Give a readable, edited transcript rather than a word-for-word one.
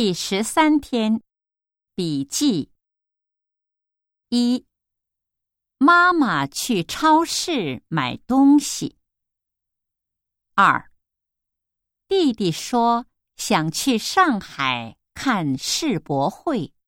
第13天笔记。1. 妈妈去超市买东西。2. 弟弟说想去上海看世博会。